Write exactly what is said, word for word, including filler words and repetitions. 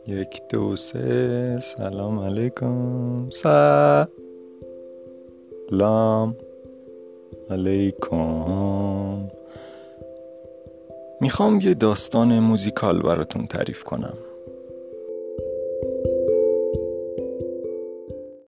یک دو سه سلام علیکم سلام علیکم. میخوام یه داستان موزیکال براتون تعریف کنم.